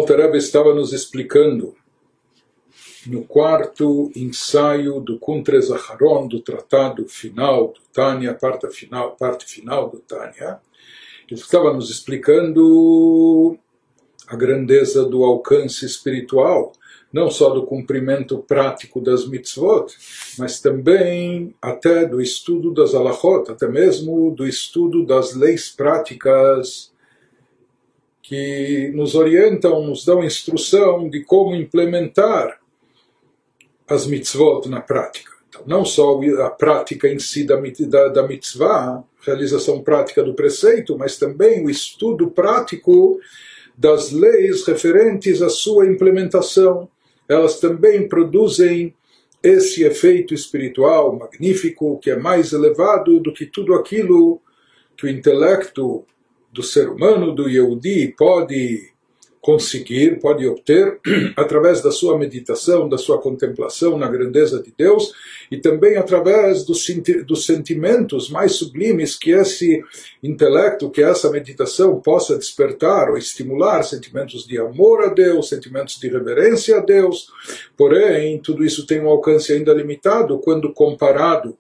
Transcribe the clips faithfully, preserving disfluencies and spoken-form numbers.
Alter Rebbe estava nos explicando no quarto ensaio do Kuntres Acharon, do tratado final do Tânia, parte final, parte final do Tânia. Ele estava nos explicando a grandeza do alcance espiritual, não só do cumprimento prático das mitzvot, mas também até do estudo das halachot, até mesmo do estudo das leis práticas que nos orientam, nos dão instrução de como implementar as mitzvot na prática. Então, não só a prática em si da, da, da mitzvah, realização prática do preceito, mas também o estudo prático das leis referentes à sua implementação. Elas também produzem esse efeito espiritual magnífico, que é mais elevado do que tudo aquilo que o intelecto do ser humano, do Yehudi, pode conseguir, pode obter através da sua meditação, da sua contemplação na grandeza de Deus e também através dos, dos sentimentos mais sublimes que esse intelecto, que essa meditação possa despertar ou estimular, sentimentos de amor a Deus, sentimentos de reverência a Deus. Porém, tudo isso tem um alcance ainda limitado quando comparado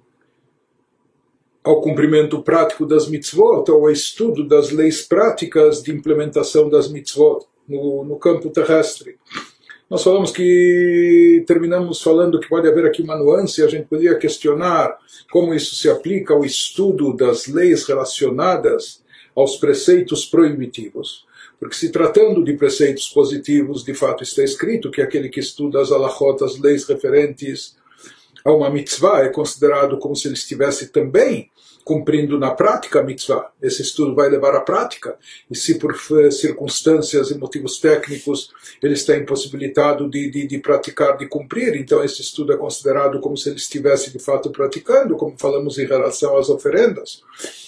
ao cumprimento prático das mitzvot, ou ao estudo das leis práticas de implementação das mitzvot no, no campo terrestre. Nós falamos que, terminamos falando que pode haver aqui uma nuance, a gente poderia questionar como isso se aplica ao estudo das leis relacionadas aos preceitos proibitivos. Porque se tratando de preceitos positivos, de fato está escrito que aquele que estuda as halachot, as leis referentes a uma mitzvah, é considerado como se ele estivesse também cumprindo na prática a mitzvah. Esse estudo vai levar à prática, e se por circunstâncias e motivos técnicos ele está impossibilitado de, de, de praticar, de cumprir, então esse estudo é considerado como se ele estivesse de fato praticando, como falamos em relação às oferendas.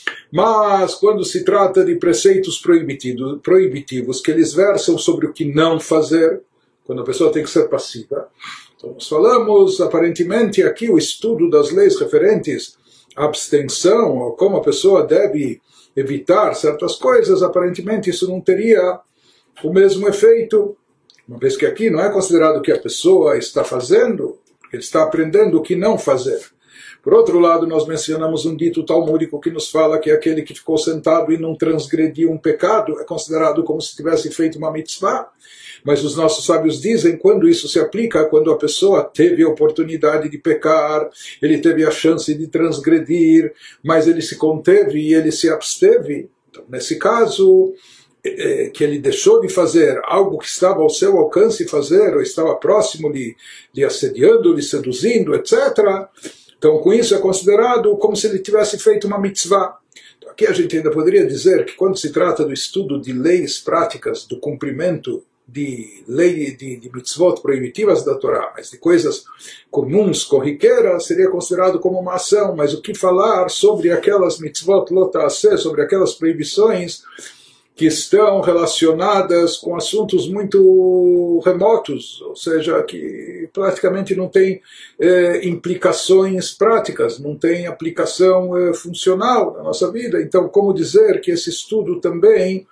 Mas quando se trata de preceitos proibitivos, proibitivos que eles versam sobre o que não fazer, quando a pessoa tem que ser passiva, então, nós falamos, aparentemente, aqui o estudo das leis referentes à abstenção, ou como a pessoa deve evitar certas coisas, aparentemente isso não teria o mesmo efeito, uma vez que aqui não é considerado o que a pessoa está fazendo, ele está aprendendo o que não fazer. Por outro lado, nós mencionamos um dito talmúdico que nos fala que aquele que ficou sentado e não transgrediu um pecado é considerado como se tivesse feito uma mitzvah. Mas os nossos sábios dizem, quando isso se aplica, quando a pessoa teve a oportunidade de pecar, ele teve a chance de transgredir, mas ele se conteve e ele se absteve. Então, nesse caso, é, que ele deixou de fazer algo que estava ao seu alcance fazer, ou estava próximo lhe, lhe assediando, lhe seduzindo, etcétera. Então, com isso é considerado como se ele tivesse feito uma mitzvah. Então, aqui a gente ainda poderia dizer que quando se trata do estudo de leis práticas, do cumprimento de lei de, de mitzvot proibitivas da Torá, mas de coisas comuns, corriqueiras, seria considerado como uma ação. Mas o que falar sobre aquelas mitzvot lotase, sobre aquelas proibições que estão relacionadas com assuntos muito remotos, ou seja, que praticamente não tem eh, implicações práticas, não tem aplicação eh, funcional na nossa vida. Então, como dizer que esse estudo também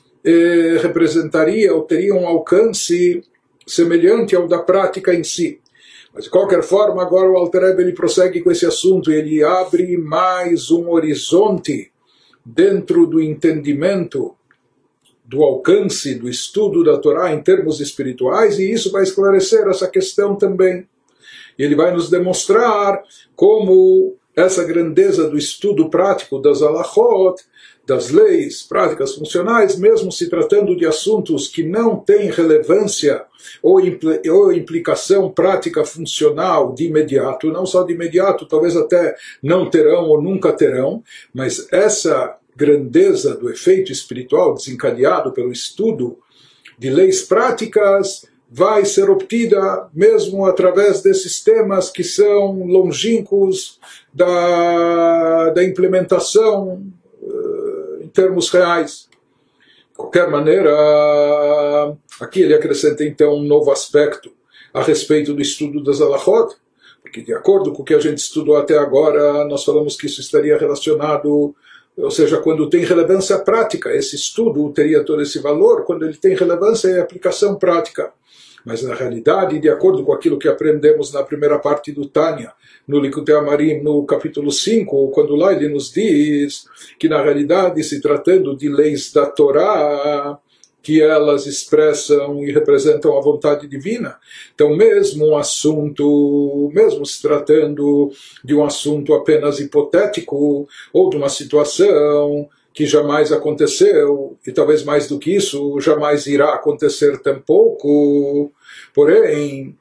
Eh, representaria ou teria um alcance semelhante ao da prática em si? Mas de qualquer forma, agora o Alter Rebbe ele prossegue com esse assunto, ele abre mais um horizonte dentro do entendimento do alcance do estudo da Torá em termos espirituais, e isso vai esclarecer essa questão também. E ele vai nos demonstrar como essa grandeza do estudo prático das halachot, das leis práticas funcionais, mesmo se tratando de assuntos que não têm relevância ou, impl ou implicação prática funcional de imediato, não só de imediato, talvez até não terão ou nunca terão, mas essa grandeza do efeito espiritual desencadeado pelo estudo de leis práticas vai ser obtida mesmo através desses temas que são longínquos da, da implementação uh, em termos reais. De qualquer maneira, aqui ele acrescenta então um novo aspecto a respeito do estudo das halachot, porque de acordo com o que a gente estudou até agora, nós falamos que isso estaria relacionado ou seja, quando tem relevância prática. Esse estudo teria todo esse valor quando ele tem relevância e aplicação prática. Mas na realidade, de acordo com aquilo que aprendemos na primeira parte do Tânia, no Likutei Amarim, no capítulo cinco, quando lá ele nos diz que na realidade, se tratando de leis da Torá, que elas expressam e representam a vontade divina, então mesmo um assunto, mesmo se tratando de um assunto apenas hipotético, ou de uma situação que jamais aconteceu, e talvez mais do que isso, jamais irá acontecer tampouco, porém,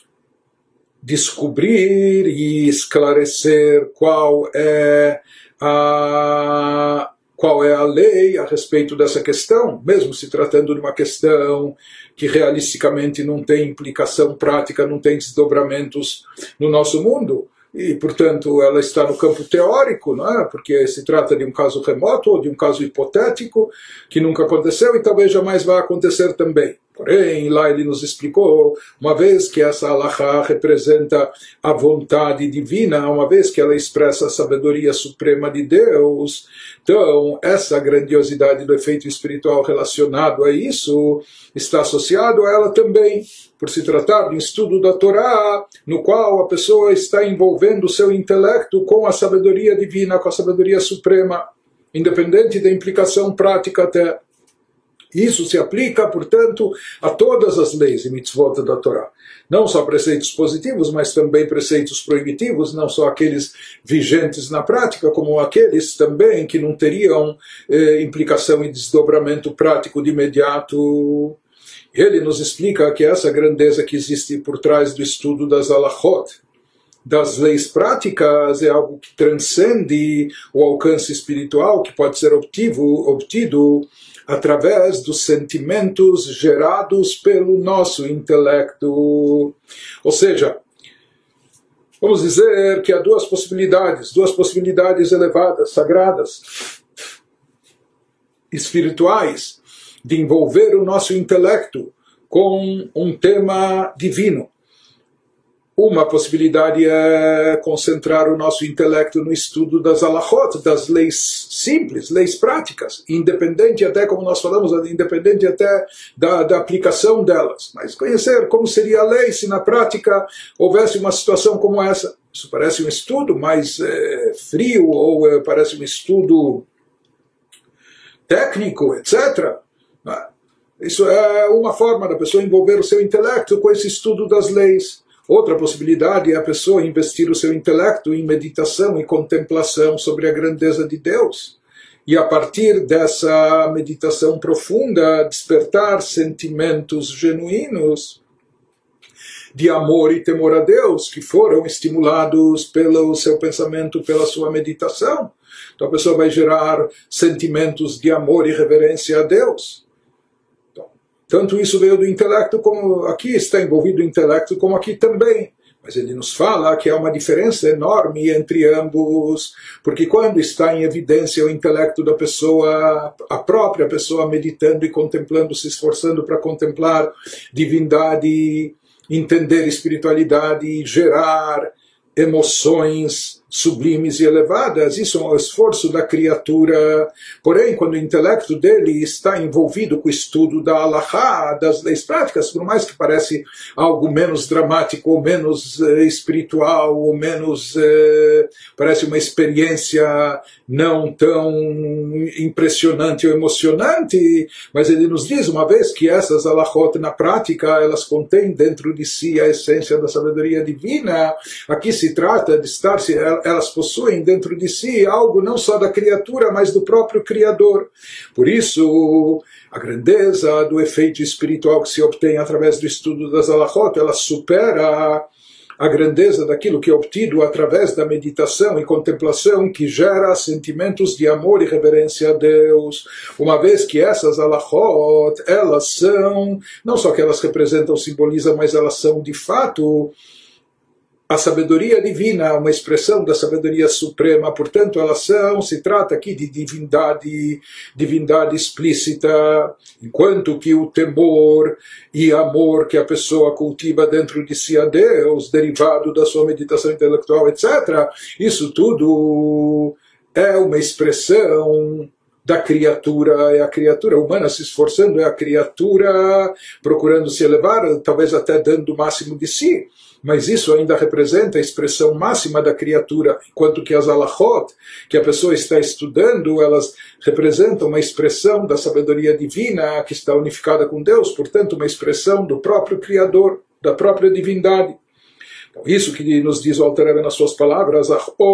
descobrir e esclarecer qual é a, qual é a lei a respeito dessa questão, mesmo se tratando de uma questão que realisticamente não tem implicação prática, não tem desdobramentos no nosso mundo, e, portanto, ela está no campo teórico, não é? Porque se trata de um caso remoto ou de um caso hipotético que nunca aconteceu e talvez jamais vá acontecer também. Porém, lá ele nos explicou, uma vez que essa halakha representa a vontade divina, uma vez que ela expressa a sabedoria suprema de Deus, então essa grandiosidade do efeito espiritual relacionado a isso está associado a ela também, por se tratar de um estudo da Torá, no qual a pessoa está envolvendo o seu intelecto com a sabedoria divina, com a sabedoria suprema, independente da implicação prática até. Isso se aplica, portanto, a todas as leis e mitzvot da Torá. Não só preceitos positivos, mas também preceitos proibitivos, não só aqueles vigentes na prática, como aqueles também que não teriam eh, implicação e desdobramento prático de imediato. Ele nos explica que essa grandeza que existe por trás do estudo das halachot, das leis práticas, é algo que transcende o alcance espiritual que pode ser obtido, obtido através dos sentimentos gerados pelo nosso intelecto. Ou seja, vamos dizer que há duas possibilidades, duas possibilidades elevadas, sagradas, espirituais, de envolver o nosso intelecto com um tema divino. Uma possibilidade é concentrar o nosso intelecto no estudo das halachot, das leis simples, leis práticas, independente até, como nós falamos, independente até da, da aplicação delas. Mas conhecer como seria a lei se na prática houvesse uma situação como essa. Isso parece um estudo mais é, frio, ou é, parece um estudo técnico, etcétera. Isso é uma forma da pessoa envolver o seu intelecto com esse estudo das leis. Outra possibilidade é a pessoa investir o seu intelecto em meditação e contemplação sobre a grandeza de Deus. E a partir dessa meditação profunda, despertar sentimentos genuínos de amor e temor a Deus, que foram estimulados pelo seu pensamento, pela sua meditação. Então a pessoa vai gerar sentimentos de amor e reverência a Deus. Tanto isso veio do intelecto, como aqui está envolvido o intelecto, como aqui também. Mas ele nos fala que há uma diferença enorme entre ambos, porque quando está em evidência o intelecto da pessoa, a própria pessoa meditando e contemplando, se esforçando para contemplar divindade, entender espiritualidade, gerar emoções sublimes e elevadas, isso é um esforço da criatura. Porém, quando o intelecto dele está envolvido com o estudo da halachá, das leis práticas, por mais que parece algo menos dramático, ou menos eh, espiritual, ou menos eh, parece uma experiência não tão impressionante ou emocionante, mas ele nos diz uma vez que essas halachot na prática, elas contêm dentro de si a essência da sabedoria divina. Aqui se trata de estar, elas possuem dentro de si algo não só da criatura, mas do próprio Criador. Por isso, a grandeza do efeito espiritual que se obtém através do estudo das halachot, ela supera a grandeza daquilo que é obtido através da meditação e contemplação, que gera sentimentos de amor e reverência a Deus, uma vez que essas halachot, elas são, não só que elas representam, simbolizam, mas elas são de fato a sabedoria divina, uma expressão da sabedoria suprema. Portanto, elas são, se trata aqui de divindade, divindade explícita, enquanto que o temor e amor que a pessoa cultiva dentro de si a Deus, derivado da sua meditação intelectual, etcétera, isso tudo é uma expressão da criatura, é a criatura humana se esforçando, é a criatura procurando se elevar, talvez até dando o máximo de si, mas isso ainda representa a expressão máxima da criatura, enquanto que as alachot, que a pessoa está estudando, elas representam uma expressão da sabedoria divina que está unificada com Deus, portanto uma expressão do próprio Criador, da própria divindade. Isso que nos diz o Alter Rebbe nas suas palavras,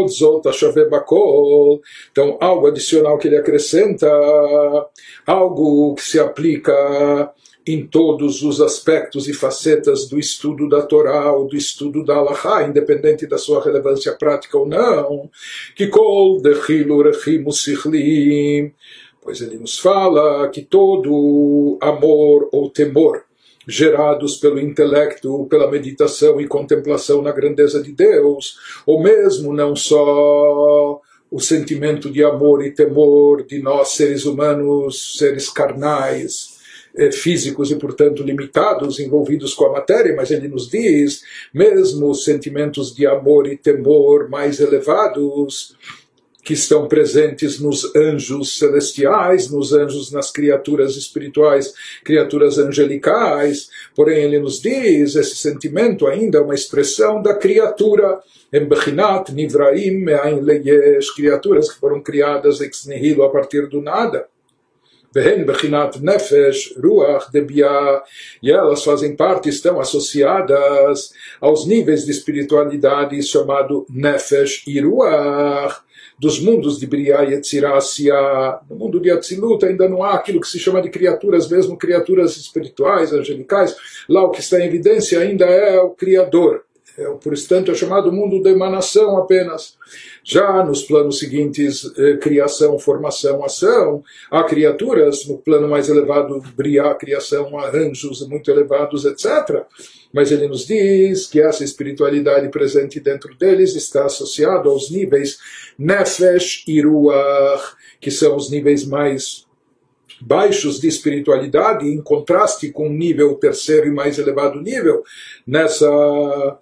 então algo adicional que ele acrescenta, algo que se aplica em todos os aspectos e facetas do estudo da Torá ou do estudo da Halachá, independente da sua relevância prática ou não, que kol dechilu rechimu sichlim, pois ele nos fala que todo amor ou temor gerados pelo intelecto, pela meditação e contemplação na grandeza de Deus, ou mesmo não só o sentimento de amor e temor de nós seres humanos, seres carnais, físicos e portanto limitados, envolvidos com a matéria, mas ele nos diz, mesmo os sentimentos de amor e temor mais elevados, que estão presentes nos anjos celestiais, nos anjos, nas criaturas espirituais, criaturas angelicais. Porém, ele nos diz, esse sentimento ainda é uma expressão da criatura, Embechinat Nivraim Me'ain Leyesh, criaturas que foram criadas ex nihilo, a partir do nada. Vehen Bechinat Nefesh Ruach Debia, e elas fazem parte, estão associadas aos níveis de espiritualidade chamado Nefesh e Ruach, dos mundos de Briá e Etzirá. No mundo de Atzilut ainda não há aquilo que se chama de criaturas, mesmo criaturas espirituais, angelicais. Lá o que está em evidência ainda é o Criador. É, por tanto, é chamado mundo da emanação apenas. Já nos planos seguintes, eh, criação, formação, ação, há criaturas, no plano mais elevado, Briá, criação, há anjos muito elevados, etcétera. Mas ele nos diz que essa espiritualidade presente dentro deles está associada aos níveis Nefesh e Ruach, que são os níveis mais baixos de espiritualidade, em contraste com o nível terceiro e mais elevado nível, nessa,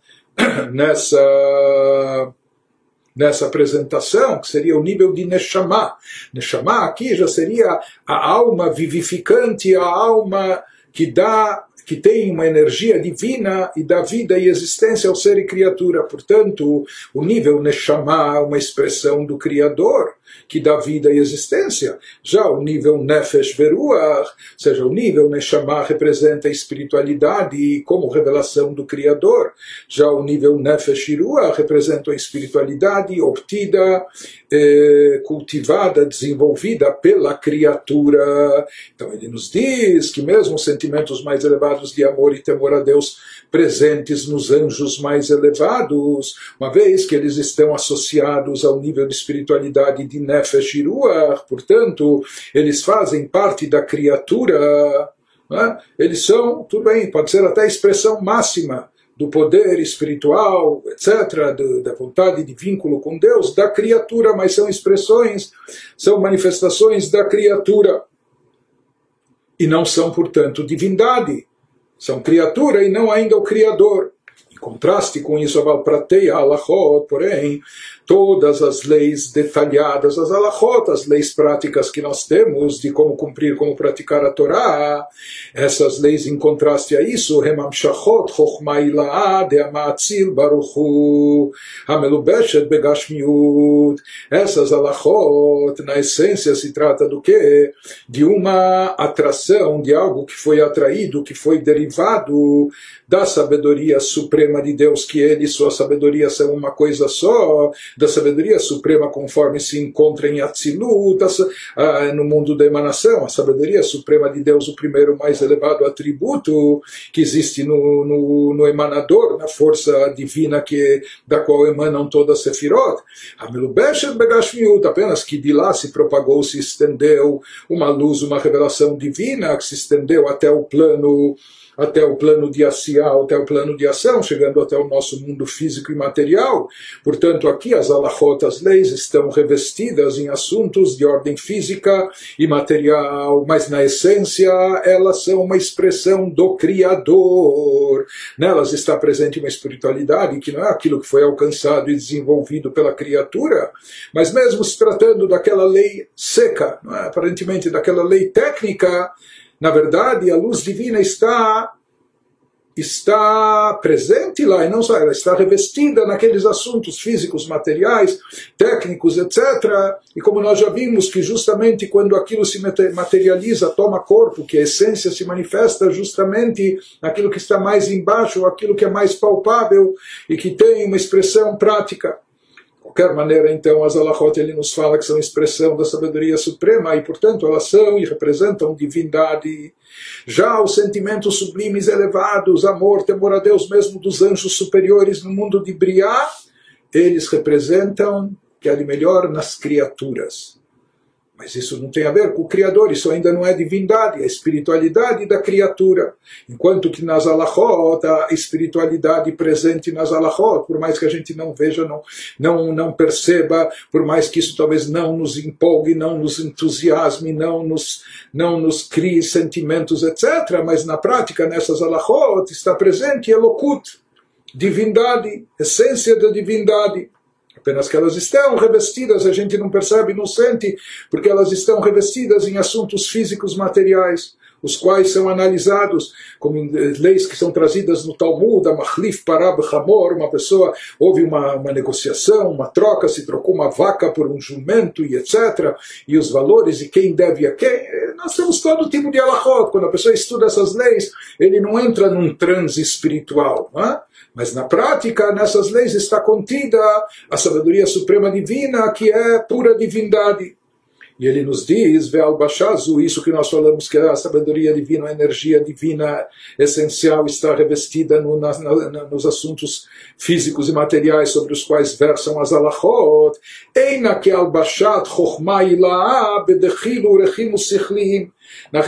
nessa, nessa apresentação, que seria o nível de Neshama. Neshama aqui já seria a alma vivificante, a alma que dá, que tem uma energia divina e dá vida e existência ao ser e criatura. Portanto, o nível Neshama é uma expressão do Criador, que dá vida e existência. Já o nível Nefesh Veruach, ou seja, o nível Neshama representa a espiritualidade como revelação do Criador. Já o nível Nefesh Ruach representa a espiritualidade obtida, eh, cultivada, desenvolvida pela criatura. Então ele nos diz que mesmo os sentimentos mais elevados de amor e temor a Deus presentes nos anjos mais elevados, uma vez que eles estão associados ao nível de espiritualidade de Nefesh e Ruach, portanto, eles fazem parte da criatura, né? Eles são, tudo bem, pode ser até a expressão máxima do poder espiritual, etcétera, do, da vontade de vínculo com Deus, da criatura, mas são expressões, são manifestações da criatura, e não são, portanto, divindade. São criatura e não ainda o Criador. Em contraste com isso, a Valprateia, a Halachot, porém, todas as leis detalhadas, as Halachot, as leis práticas que nós temos de como cumprir, como praticar a Torá, essas leis em contraste a isso, Hemamshachot, Chochma Ila'a, De'amatzil, Baruchu, Hamelubeshet, Begashmiut, essas Halachot, na essência se trata do quê? De uma atração, de algo que foi atraído, que foi derivado da sabedoria suprema de Deus, que ele e sua sabedoria são uma coisa só, da sabedoria suprema conforme se encontra em Atzilut, no mundo da emanação, a sabedoria suprema de Deus, o primeiro mais elevado atributo que existe no, no, no emanador, na força divina que, da qual emanam todas as sefirot, apenas que de lá se propagou, se estendeu uma luz, uma revelação divina que se estendeu até o plano até o plano de ação, até o plano de ação, chegando até o nosso mundo físico e material. Portanto, aqui as alachot, as leis, estão revestidas em assuntos de ordem física e material, mas na essência elas são uma expressão do Criador. Nelas está presente uma espiritualidade que não é aquilo que foi alcançado e desenvolvido pela criatura, mas mesmo se tratando daquela lei seca, não é? Aparentemente daquela lei técnica, na verdade, a luz divina está, está presente lá, e não só ela está revestida naqueles assuntos físicos, materiais, técnicos, etcétera. E como nós já vimos que justamente quando aquilo se materializa, toma corpo, que a essência se manifesta justamente naquilo que está mais embaixo, aquilo que é mais palpável e que tem uma expressão prática. De qualquer maneira, então, as alachot, ele nos fala que são expressão da sabedoria suprema e, portanto, elas são e representam divindade. Já os sentimentos sublimes elevados, amor, temor a Deus, mesmo dos anjos superiores no mundo de Briá, eles representam o que há de melhor nas criaturas. Mas isso não tem a ver com o Criador, isso ainda não é divindade, é a espiritualidade da criatura. Enquanto que nas alachot, a espiritualidade presente nas alachot, por mais que a gente não veja, não, não, não perceba, por mais que isso talvez não nos empolgue, não nos entusiasme, não nos, não nos crie sentimentos, etcétera. Mas na prática, nessas alachot, está presente Elokut, divindade, essência da divindade. Apenas que elas estão revestidas, a gente não percebe, não sente, porque elas estão revestidas em assuntos físicos materiais, os quais são analisados como leis que são trazidas no Talmud, a Machlif Parab Hamor, uma pessoa, houve uma, uma negociação, uma troca, se trocou uma vaca por um jumento e etcétera, e os valores e quem deve a quem. Nós temos todo tipo de alachot. Quando a pessoa estuda essas leis, ele não entra num transe espiritual, não é? Mas na prática, nessas leis está contida a sabedoria suprema divina, que é pura divindade. E ele nos diz, Ve'al Bashazu, isso que nós falamos que a sabedoria divina, a energia divina essencial está revestida no, na, na, nos assuntos físicos e materiais sobre os quais versam as alachot. Eina que al bashat chokhma ila'a bedechilu rechimu sichlim. Na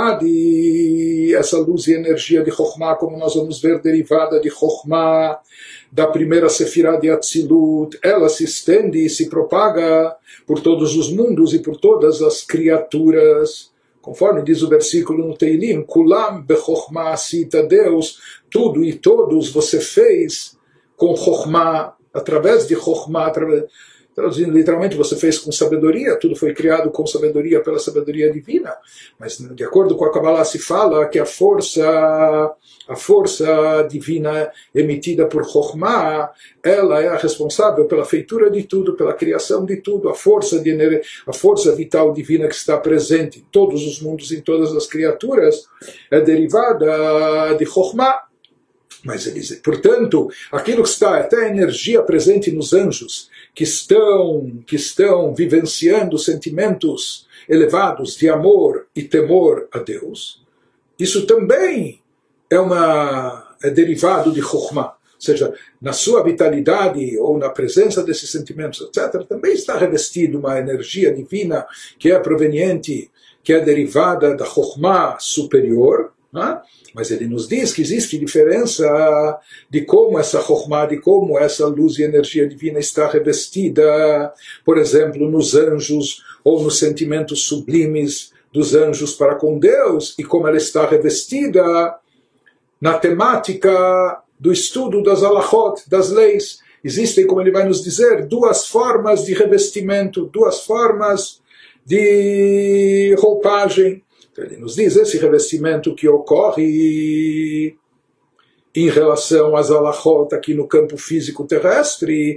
realidade, essa luz e energia de Chokhmah, como nós vamos ver, derivada de Chokhmah, da primeira Sefirah de Atzilut, ela se estende e se propaga por todos os mundos e por todas as criaturas. Conforme diz o versículo no Teilim, Kulam bechokhmah asita, Deus, tudo e todos você fez com Chokhmah, através de Chokhmah, através... Traduzindo literalmente, você fez com sabedoria, tudo foi criado com sabedoria pela sabedoria divina. Mas de acordo com a Kabbalah se fala que a força, a força divina emitida por Chokhmah, ela é a responsável pela feitura de tudo, pela criação de tudo, a força, de, a força vital divina que está presente em todos os mundos, em todas as criaturas, é derivada de Chokhmah. Mas eles, portanto, aquilo que está, até a energia presente nos anjos, que estão, que estão vivenciando sentimentos elevados de amor e temor a Deus, isso também é, uma, é derivado de Chokhmah. Ou seja, na sua vitalidade ou na presença desses sentimentos, etcétera, também está revestido uma energia divina que é proveniente, que é derivada da Chokhmah superior. Né? Mas ele nos diz que existe diferença de como essa Chokhmah, de como essa luz e energia divina está revestida, por exemplo, nos anjos ou nos sentimentos sublimes dos anjos para com Deus, e como ela está revestida na temática do estudo das alachot, das leis. Existem, como ele vai nos dizer, duas formas de revestimento, duas formas de roupagem. Então ele nos diz, esse revestimento que ocorre em relação às alachot aqui no campo físico terrestre,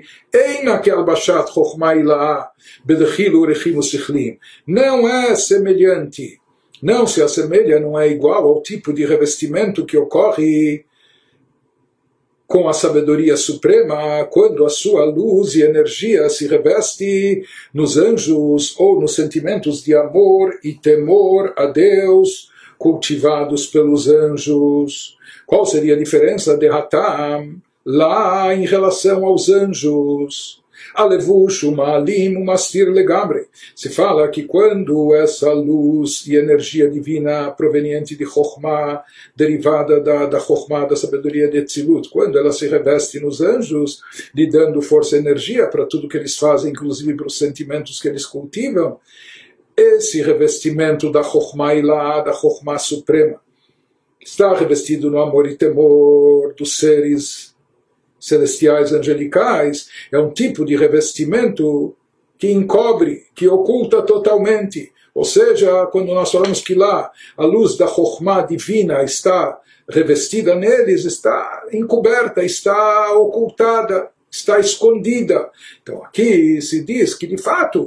não é semelhante, não se assemelha, não é igual ao tipo de revestimento que ocorre com a sabedoria suprema, quando a sua luz e energia se reveste nos anjos ou nos sentimentos de amor e temor a Deus cultivados pelos anjos. Qual seria a diferença de Hatam lá em relação aos anjos? Alevush, Umalim, Umastir Legamre. Se fala que quando essa luz e energia divina proveniente de Chokhmah, derivada da, da Chokhmah, da sabedoria de Etzilut, quando ela se reveste nos anjos, lhe dando força e energia para tudo que eles fazem, inclusive para os sentimentos que eles cultivam, esse revestimento da Chokhmah Ilá, da Chokhmah Suprema, está revestido no amor e temor dos seres celestiais angelicais, é um tipo de revestimento que encobre, que oculta totalmente. Ou seja, quando nós falamos que lá a luz da Chokhmah divina está revestida neles, está encoberta, está ocultada, está escondida. Então aqui se diz que de fato,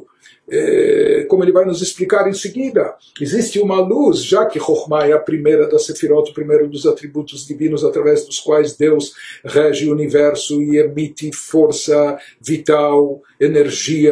É, como ele vai nos explicar em seguida, existe uma luz, já que Chokhmah é a primeira da Sefirot, o primeiro dos atributos divinos através dos quais Deus rege o universo e emite força vital, energia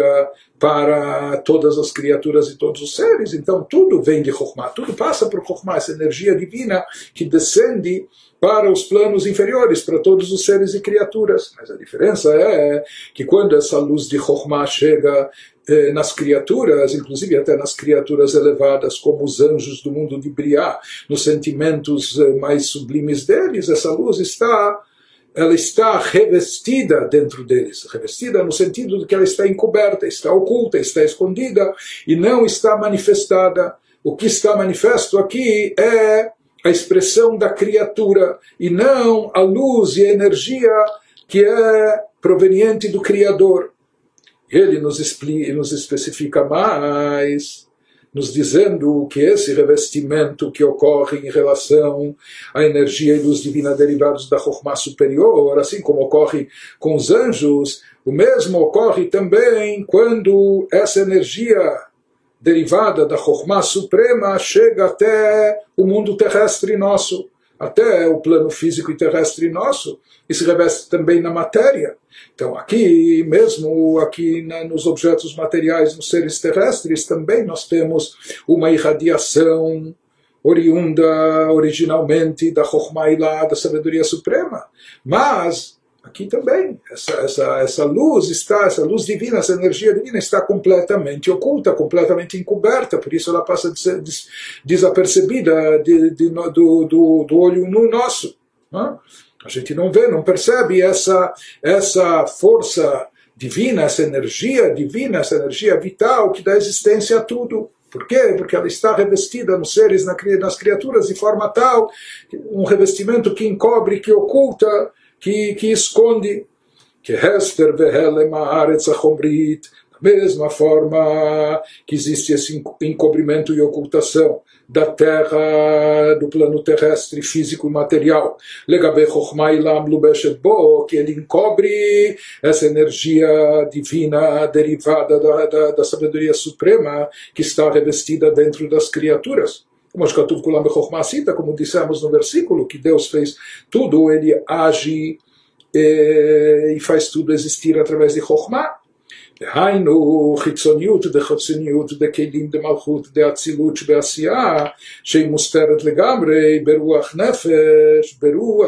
para todas as criaturas e todos os seres. Então tudo vem de Chokhmah, tudo passa por Chokhmah, essa energia divina que descende para os planos inferiores, para todos os seres e criaturas. Mas a diferença é que quando essa luz de Chokhmah chega eh, nas criaturas, inclusive até nas criaturas elevadas, como os anjos do mundo de Briá, nos sentimentos eh, mais sublimes deles, essa luz está, ela está revestida dentro deles. Revestida no sentido de que ela está encoberta, está oculta, está escondida e não está manifestada. O que está manifesto aqui é a expressão da criatura e não a luz e a energia que é proveniente do Criador. Ele nos, explica, nos especifica mais, nos dizendo que esse revestimento que ocorre em relação à energia e luz divina derivados da Chokhmah superior, assim como ocorre com os anjos, o mesmo ocorre também quando essa energia derivada da Chokhmah suprema chega até o mundo terrestre nosso, até o plano físico e terrestre nosso, e se reveste também na matéria. Então aqui, mesmo aqui na, nos objetos materiais, nos seres terrestres, também nós temos uma irradiação oriunda originalmente da Chokhmah Ilá, da sabedoria suprema. Mas aqui também, essa, essa, essa luz está, essa luz divina, essa energia divina está completamente oculta, completamente encoberta, por isso ela passa de ser des, desapercebida de, de, do, do, do olho no nosso. Não? A gente não vê, não percebe essa, essa força divina, essa energia divina, essa energia vital que dá existência a tudo. Por quê? Porque ela está revestida nos seres, nas criaturas, de forma tal, um revestimento que encobre, que oculta, que, que esconde. Que Hester vehelem haaretz hachomrit, da mesma forma que existe esse encobrimento e ocultação da terra, do plano terrestre, físico e material. Legabe Chokhmah Ilam Lubeshet Bo, que ele encobre essa energia divina derivada da, da, da sabedoria suprema que está revestida dentro das criaturas. Como Shkatuv Kulam Chokhmah Sita, como dissemos no versículo, que Deus fez tudo, ele age eh, e faz tudo existir através de Chokhmah. דהיינו חיצוניות דחצוניות דכלים דמלכות דאצילות שבעשייה שהיא מוסתרת לגמרי ברוח נפש,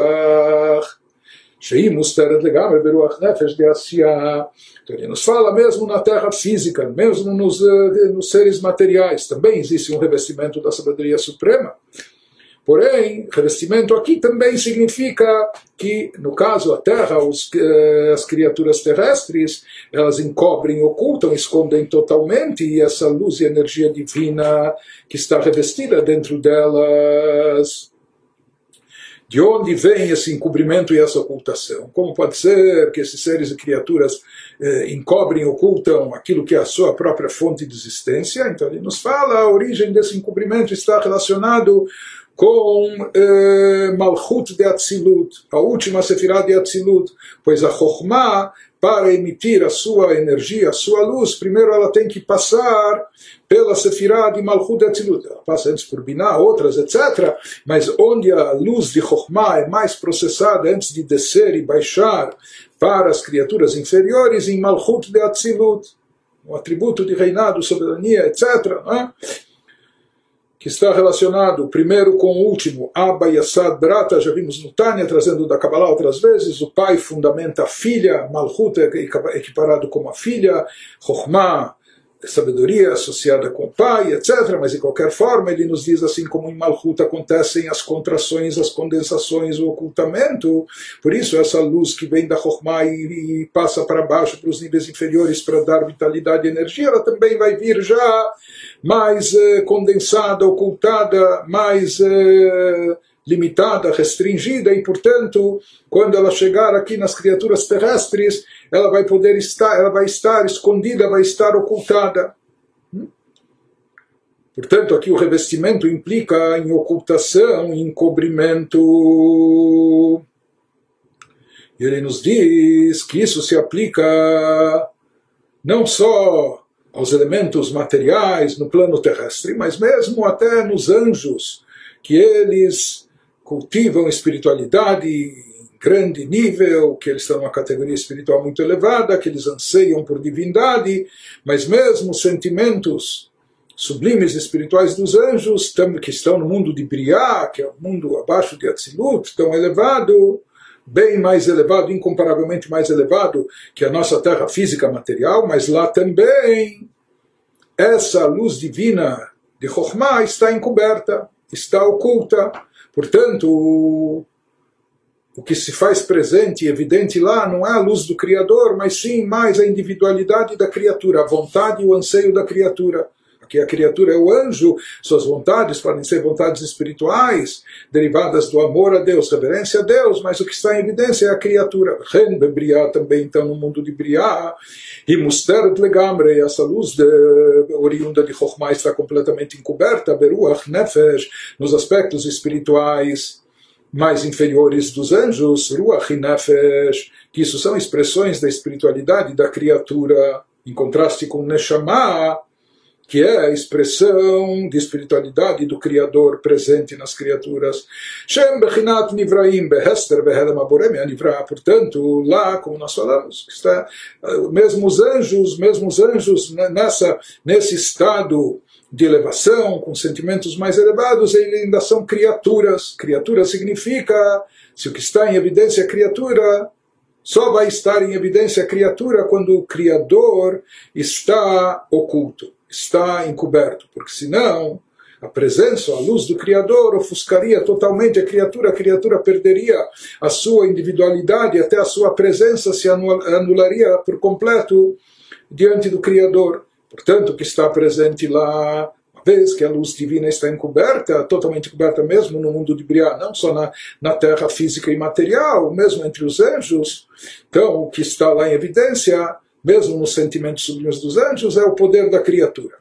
ברוח שהיא מוסתרת לגמרי ברוח נפש דעשייה. Então ele nos fala mesmo na terra física, mesmo nos, nos seres materiais, também existe um revestimento da sabedoria suprema. Porém, revestimento aqui também significa que, no caso, a Terra, os, as criaturas terrestres, elas encobrem, ocultam, escondem totalmente, e essa luz e energia divina que está revestida dentro delas. De onde vem esse encobrimento e essa ocultação? Como pode ser que esses seres e criaturas eh, encobrem, ocultam aquilo que é a sua própria fonte de existência? Então ele nos fala, a origem desse encobrimento está relacionado com eh, Malchut de Atzilut, a última Sefirah de Atzilut, pois a Chokhmah, para emitir a sua energia, a sua luz, primeiro ela tem que passar pela Sefirah de Malchut de Atzilut. Ela passa antes por Binah, outras, etcétera. Mas onde a luz de Chokhmah é mais processada antes de descer e baixar para as criaturas inferiores, em Malchut de Atzilut, o atributo de reinado, soberania, etcétera. Não é? que está relacionado primeiro com o último, Abba Yasad Brata, já vimos no Tânia, trazendo da Kabbalah outras vezes, o pai fundamenta a filha, Malchut é equiparado como a filha, Chokhmah, sabedoria associada com o pai, etcétera. Mas de qualquer forma ele nos diz assim como em Malchut acontecem as contrações, as condensações, o ocultamento. Por isso essa luz que vem da Chokhmah e, e passa para baixo, para os níveis inferiores para dar vitalidade e energia, ela também vai vir já mais eh, condensada, ocultada, mais eh, limitada, restringida, e portanto quando ela chegar aqui nas criaturas terrestres, ela vai poder estar, ela vai estar escondida, vai estar ocultada. Portanto, aqui o revestimento implica em ocultação, em encobrimento. E ele nos diz que isso se aplica não só aos elementos materiais no plano terrestre, mas mesmo até nos anjos, que eles cultivam espiritualidade em grande nível, que eles estão numa categoria espiritual muito elevada, que eles anseiam por divindade, mas mesmo sentimentos sublimes espirituais dos anjos, que estão no mundo de Briá, que é o mundo abaixo de Atzilut, tão elevado, bem mais elevado, incomparavelmente mais elevado que a nossa terra física material, mas lá também essa luz divina de Chokhmah está encoberta, está oculta. Portanto, o que se faz presente e evidente lá não é a luz do Criador, mas sim mais a individualidade da criatura, a vontade e o anseio da criatura. Aqui a criatura é o anjo, suas vontades podem ser vontades espirituais, derivadas do amor a Deus, reverência a Deus, mas o que está em evidência é a criatura. Ren Bebriá também, então, no mundo de Briá, e Musteret Legamre, essa luz de, oriunda de Chokhmah está completamente encoberta, Beruach Nefesh, nos aspectos espirituais mais inferiores dos anjos, Ruach Nefesh, que isso são expressões da espiritualidade da criatura, em contraste com Neshama, que é a expressão de espiritualidade do Criador presente nas criaturas. Shem Bechinat Nivraim Behester Behelem Aborem Nivra. Portanto, lá, como nós falamos, está, mesmo os anjos, mesmo os anjos nessa, nesse estado de elevação, com sentimentos mais elevados, eles ainda são criaturas. Criatura significa, se o que está em evidência é criatura, só vai estar em evidência a criatura quando o Criador está oculto, está encoberto, porque senão a presença, a luz do Criador ofuscaria totalmente a criatura, a criatura perderia a sua individualidade, até a sua presença se anularia por completo diante do Criador. Portanto, o que está presente lá, uma vez que a luz divina está encoberta, totalmente encoberta mesmo no mundo de Briá, não só na, na terra física e material, mesmo entre os anjos, então o que está lá em evidência, mesmo nos sentimentos sublimes dos anjos, é o poder da criatura.